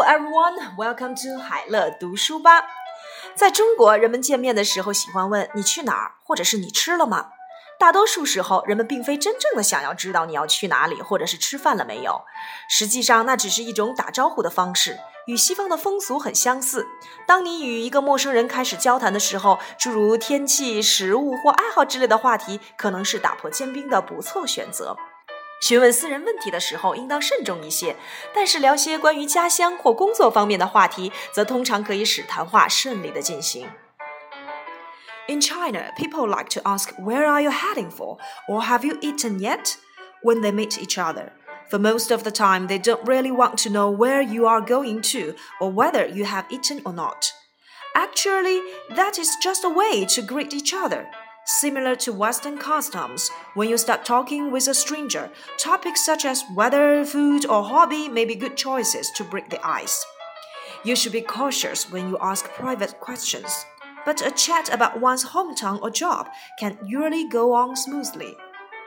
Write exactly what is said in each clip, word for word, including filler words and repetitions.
everyone, welcome to 海乐读书吧。在中国，人们见面的时候喜欢问你去哪儿，或者是你吃了吗？大多数时候，人们并非真正的想要知道你要去哪里，或者是吃饭了没有。实际上，那只是一种打招呼的方式，与西方的风俗很相似。当你与一个陌生人开始交谈的时候，诸如天气、食物或爱好之类的话题，可能是打破坚冰的不错选择。询问私人问题的时候应当慎重一些，但是聊些关于家乡或工作方面的话题，则通常可以使谈话顺利地进行。In China, people like to ask, "Where are you heading for?" or "Have you eaten yet?" when they meet each other. For most of the time, they don't really want to know where you are going to or whether you have eaten or not. Actually, that is just a way to greet each other.Similar to Western customs, when you start talking with a stranger, topics such as weather, food, or hobby may be good choices to break the ice. You should be cautious when you ask private questions, but a chat about one's hometown or job can usually go on smoothly.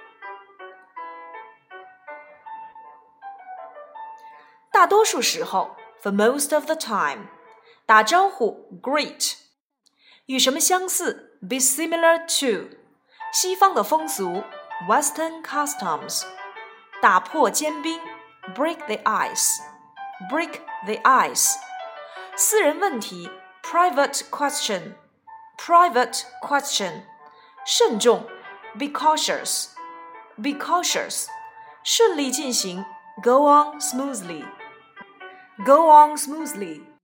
大多数时候 for most of the time 打招呼 greet 与什么相似 be similar to 西方的风俗 Western customs 打破坚冰 break the ice break the ice 私人问题 private question private question 慎重 be cautious be cautious 顺利进行 go on smoothly go on smoothly